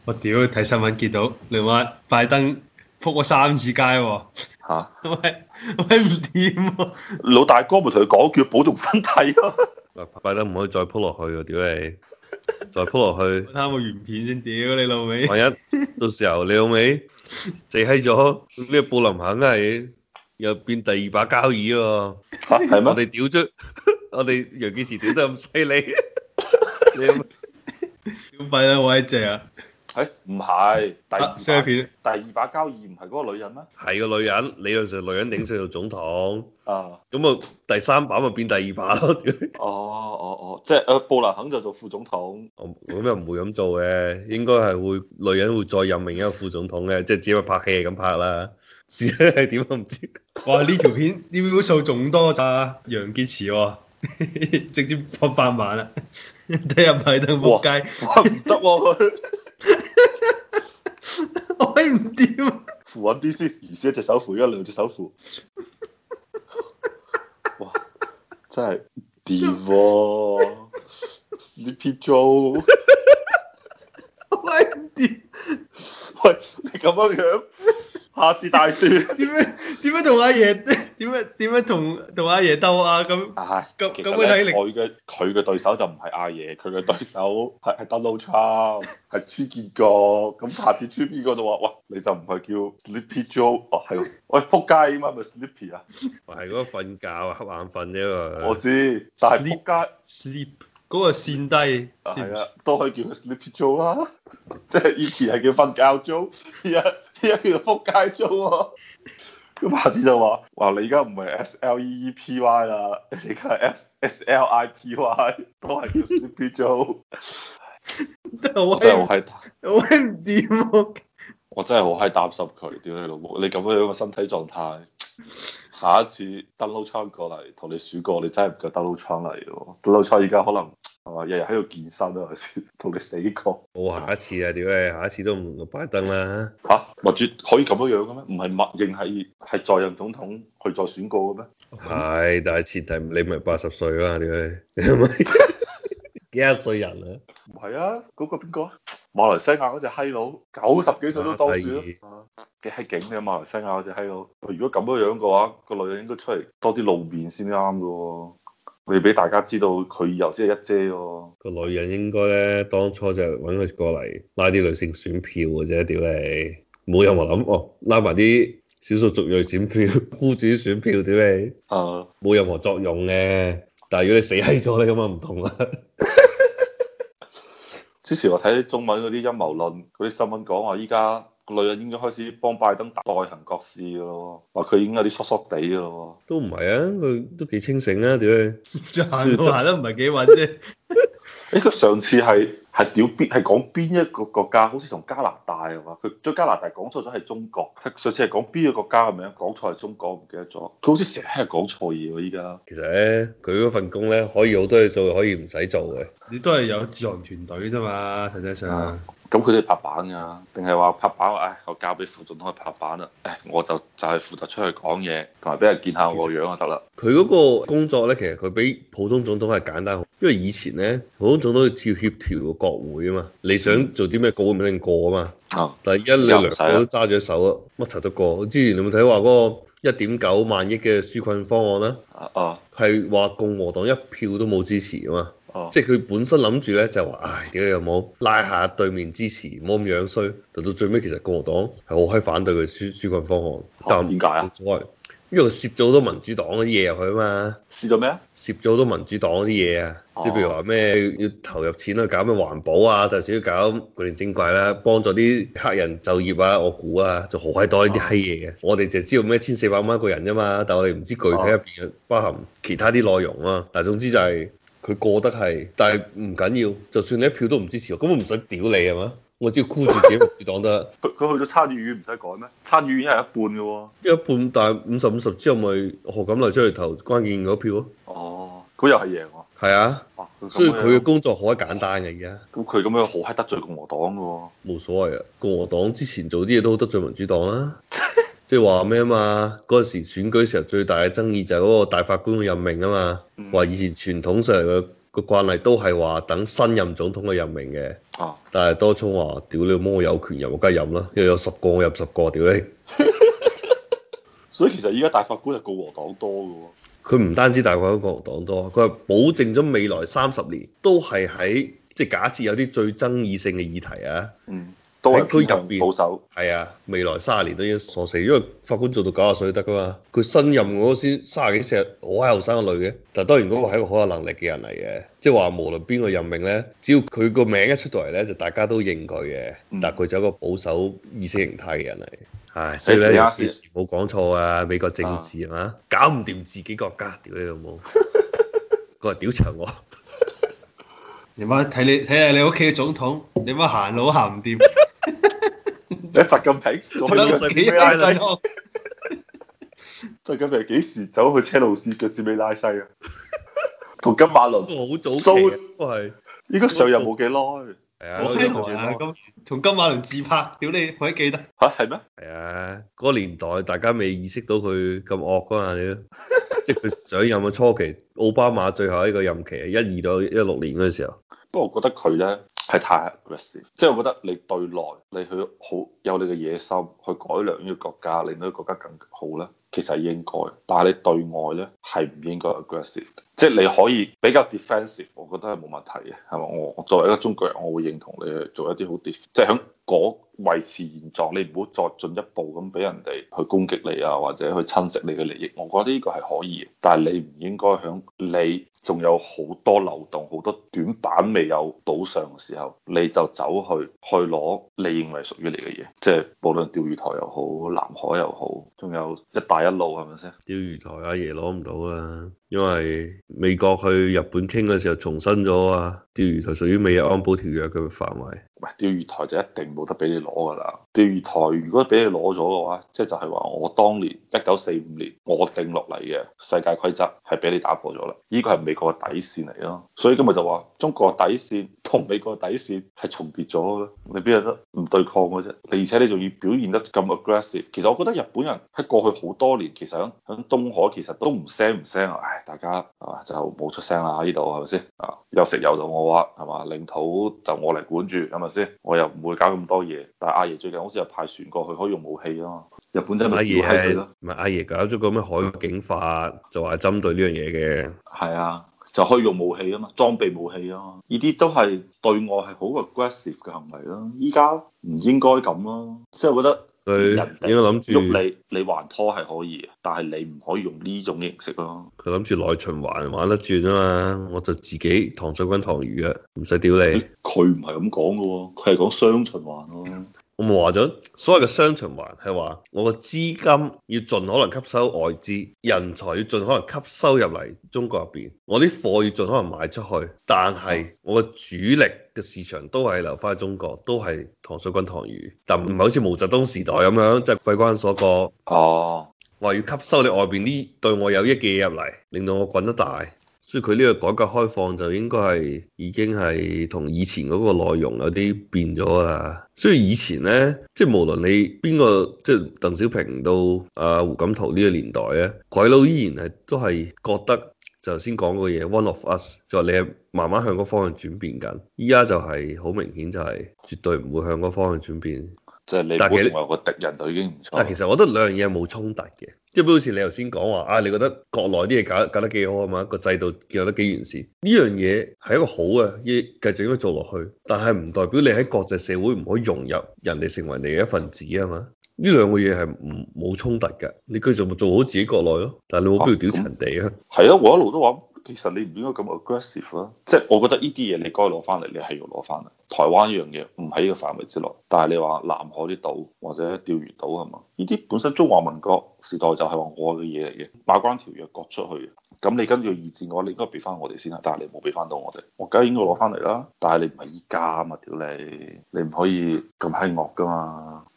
我屌睇新聞見到你話拜登撲咗3次街喎， 嚇！ 喂唔掂喎， 老大哥咪同佢講叫保重身體咯。 拜登唔可以再鋪落去啊！屌你，再鋪落去， 啱個原片先，屌你老味。 萬一到時候你老味死閪咗，呢個布林肯係又變第二把交椅喎。 嚇係我咩？ 哋屌咗，我哋楊潔篪屌得咁犀利，你有冇屌拜登好閪正啊！ 誒唔係相片第二把交椅唔係嗰個女人咩？ 係個女人，理論上女人頂上做總統， 啊！ 咁啊第三把咪變第二把咯。屌哦，即係布林肯就做副總統。 咁又唔會咁做嘅，應該係會女人會再任命一個副總統嘅，即係只係拍戲係咁拍啦。至於係點都唔知。 哇！呢條片啲 view 數仲多咋楊潔篪喎，直接破100萬啦！睇下拜登仆街， 哇唔得喎佢， 我係唔掂。 扶穩啲先，如是一隻手扶，而家兩隻手扶。哇！真係掂喎，Sleepy Joe。 我係唔掂。 喂，你咁樣，下次大選點樣同阿爺點樣同阿爺鬥啊？咁唉， 咁其實咧咁嘅體力佢嘅對手就唔係阿爺，佢嘅對手係 Donald Trump，係川建國。咁下次川建國就話：喂，你就唔係叫 Sleepy Joe，哦係喎，喂仆街嘛，咪 Sleepy 啊？ 係嗰個瞓覺啊，瞌眼瞓啫嘛。 我知，但係仆街 sleep 嗰個線低， 係啊，都可以叫佢 Sleepy Joe 啦。即係以前係叫瞓覺 Joe，而家叫做仆街 Joe 喎。咁下次就話你而家唔係 SLEEPY 啦，你而家係 SLIPY，都係叫 Sleepy Joe。 真係我真係好閪， 好閪唔掂喎。 我真係好閪擔心佢，屌你老母！你咁樣嘅身體狀態，下一次 Donald Trump 過嚟同你選過，你真係唔夠 Donald Trump 嚟喎。Donald Trump 而家可能係嘛，日日喺度健身啊，先同你死過。 冇下一次啊！屌你，下一次都唔拜登啦。 嚇，民主可以咁樣樣嘅咩？唔係默認係在任總統去再選過嘅咩？ 係，但係前提你咪80歲啊！屌你，你係咪幾多歲人啊？ 唔係啊，嗰個邊個啊？馬來西亞嗰隻閪佬90幾歲都當選咯，幾閪勁嘅馬來西亞嗰隻閪佬。如果咁樣樣嘅話，個女人應該出嚟多啲露面先啱嘅喎。你俾大家知道佢以後先係一姐喎。 個女人應該咧，當初就揾佢過嚟拉啲女性選票嘅啫，屌你，冇任何諗哦，拉埋啲少數族裔選票、孤主選票，屌你，冇任何作用嘅。但係如果你死閪咗咧，咁啊唔同啦。 之前我睇啲中文嗰啲陰謀論嗰啲新聞講話，依家個女人應該開始幫拜登代行國事嘅咯，話佢已經有啲疏疏地嘅咯。 都唔係啊，佢都幾清醒啊，屌你， 行得唔係幾穩啫。 佢上次係屌邊係講邊一個國家？好似同加拿大啊嘛，佢將加拿大講錯咗係中國。上次係講邊個國家嘅名？講錯係中國，唔記得咗。佢好似成日係講錯嘢喎，依家。 其實咧，佢嗰份工咧可以好多嘢做，可以唔使做嘅。 你都係有自行團隊啫嘛，實際上。 咁佢哋拍板㗎，定係話拍板？唉，我交俾副總統去拍板啦。唉，我就係負責出去講嘢，同埋俾人見下我個樣就得啦。 佢嗰個工作咧，其實佢比普通總統係簡單好，因為以前咧普通總統要協調個國會啊嘛，你想做啲咩國會唔一定過啊嘛。但係你兩個都揸住手啊，乜柒都過。之前你有冇睇話嗰個1.9萬億嘅紓困方案啦？係話共和黨一票都冇支持啊嘛。即係佢本身諗住咧就話，唉，屌有冇拉下對面支持，唔好咁樣衰。到最尾其實共和黨係好閪反對佢紓困方案。但點解啊？ 冇所謂，因為佢攝咗好多民主黨嗰啲嘢入去啊嘛。 攝咗咩啊？ 攝咗好多民主黨嗰啲嘢啊，即係譬如話咩要投入錢去搞咩環保啊，就少要搞古靈精怪啦，幫助啲黑人就業啊，我估啊，就好閪多呢啲閪嘢嘅。我哋就知道咩1400蚊一個人啫嘛，但係我哋唔知具體入邊嘅包含其他啲內容啊。但係總之就係佢過得係，但係唔緊要，就算你一票都唔支持我，根本唔使屌你係嘛？我只要箍住自己民主黨得。 佢去咗參議院唔使改咩？參議院係一半嘅喎。 一半，但係50-50之後咪何錦麗出嚟投關鍵嗰票咯。 哦，咁又係贏喎。 係啊。所以佢嘅工作好閪簡單嘅而家。 咁佢咁樣好閪得罪共和黨嘅喎。 冇所謂啊，共和黨之前做啲嘢都好得罪民主黨啦。即係話咩啊嘛？嗰陣時選舉時候最大嘅爭議就係嗰個大法官嘅任命啊嘛。話以前傳統上嘅個慣例都係話等新任總統嘅任命嘅。 啊， 但係多聰話：屌你媽，我有權任，我梗係任啦，因為有10個我任10個，屌你！ 所以其實依家大法官係共和黨多嘅喎。 佢唔單止大概共和黨多，佢係保證咗未來30年都係喺即係假設有啲最爭議性嘅議題啊。 嗯。都係偏向保守， 係啊，未來30年都已經鎖死，因為法官做到90歲得噶嘛。佢新任嗰個先30幾40，好閪後生個女嘅。但係當然嗰個係一個好有能力嘅人嚟嘅，即係話無論邊個任命咧，只要佢個名一出到嚟咧，就大家都認佢嘅。但係佢就係一個保守意識形態嘅人嚟。唉，所以咧冇講錯啊，美國政治係嘛，搞唔掂自己國家，屌你老母，過嚟屌長我。 你媽睇下你屋企嘅總統，你媽行路行唔掂。 你習近平， 幾拉西？ 習近平幾時走去車路士腳趾尾拉西啊？同金馬倫好早期都係， 應該上任冇幾耐。 係啊， 我聽話啊，同金馬倫自拍，屌你，我都記得。 嚇係咩？ 係啊，嗰個年代大家未意識到佢咁惡噶嘛，即係佢上任嘅初期，奧巴馬最後一個任期係12到16年嗰陣時候。 不過我覺得佢咧係太 aggressive，即係我覺得你對內你去好有你嘅野心去改良呢個國家，令到個國家更好咧，其實係應該。但係你對外咧係唔應該 aggressive，即係你可以比較 defensive，我覺得係冇問題嘅，係嘛？我作為一個中國人，我會認同你去做一啲好 def，即係響嗰維持現狀，你唔好再進一步咁俾人哋去攻擊你啊，或者去侵蝕你嘅利益。我覺得呢個係可以嘅，但係你唔應該響你仲有好多漏洞、好多短板未有補上嘅時候，你就走去攞你認為屬於你嘅嘢，即係無論釣魚台又好、南海又好，仲有一帶一路係咪先？ 釣魚台阿爺攞唔到啊，因為美國去日本傾嘅時候重申咗啊，釣魚台屬於美日安保條約嘅範圍。 喂，釣魚台就一定冇得俾你攞㗎啦！釣魚台如果俾你攞咗嘅話，即係就係話我當年1945年我定落嚟嘅世界規則係俾你打破咗啦，呢個係美國嘅底線嚟咯。所以今日就話中國嘅底線同美國嘅底線係重疊咗嘅，你邊有得唔對抗嘅啫？而且你仲要表現得咁 aggressive，其實我覺得日本人喺過去好多年其實喺東海其實都唔聲啊，唉，大家啊就冇出聲啦，呢度係咪先啊？有食有到我話係嘛，領土就我嚟管住係咪先？我又唔會搞咁多嘢。但係阿爺最近好似又派船過去可以用武器啊嘛，日本真係阿爺係唔係阿爺搞咗個咩海警法，就話針對呢樣嘢嘅。 係啊，就可以用武器啊嘛，裝備武器啊嘛，呢啲都係對外係好 aggressive 嘅行為咯。依家唔應該咁咯，即係我覺得佢應該諗住喐你還拖係可以，但係你唔可以用呢種形式咯。 佢諗住內循環玩得轉啊嘛，我就自己糖水滾糖魚啊，唔使屌你。 佢唔係咁講嘅喎，佢係講雙循環咯。 我咪話咗，所謂嘅雙循環係話我個資金要盡可能吸收外資，人才要盡可能吸收入嚟中國入邊，我啲貨要盡可能賣出去，但係我個主力嘅市場都係留翻喺中國，都係糖水滾糖魚，但唔係好似毛澤東時代咁樣，即係閉關鎖國。 哦， 話要吸收你外邊啲對我有益嘅嘢入嚟，令到我滾得大。所以佢呢個改革開放就應該係已經係同以前嗰個內容有啲變咗啦。所以以前呢，即係無論你邊個，即係鄧小平到胡錦濤呢個年代咧，鬼佬依然係都係覺得就頭先講個嘢 One of us，就話你係慢慢向嗰方向轉變緊。依家就係好明顯就係絕對唔會向嗰方向轉變。 即係你本來個敵人就已經唔錯。 但其實我覺得兩樣嘢冇衝突嘅，即係好似你頭先講話啊，你覺得國內啲嘢搞得幾好啊嘛，個制度建立得幾完善，呢樣嘢係一個好嘅，要繼續應該做落去。但係唔代表你喺國際社會唔可以融入人哋成為你嘅一份子啊嘛。呢兩個嘢係冇衝突嘅，你繼續做好自己國內咯，但係你冇必要屌人哋啊。 係啊，我一路都話。其實你唔應該咁 aggressive 啦，即係我覺得呢啲嘢你該攞翻嚟，你係要攞翻嚟。台灣呢樣嘢唔喺呢個範圍之內，但係你話南海啲島或者釣魚島係嘛？呢啲本身中華民國時代就係話我嘅嘢嚟嘅，馬關條約割出去，咁你跟住二戰嘅話，你應該俾翻我哋先啊，但係你冇俾翻到我哋，我梗係應該攞翻嚟啦。但係你唔係依家啊嘛，屌你，你唔可以咁閪惡噶嘛。